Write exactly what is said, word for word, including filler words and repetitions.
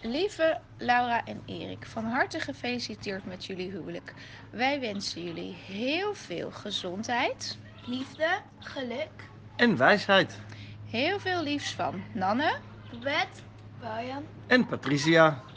Lieve Laura en Erik, van harte gefeliciteerd met jullie huwelijk. Wij wensen jullie heel veel gezondheid, liefde, geluk en wijsheid. heel veel liefs van Nanne, Babette, Brian En Patricia.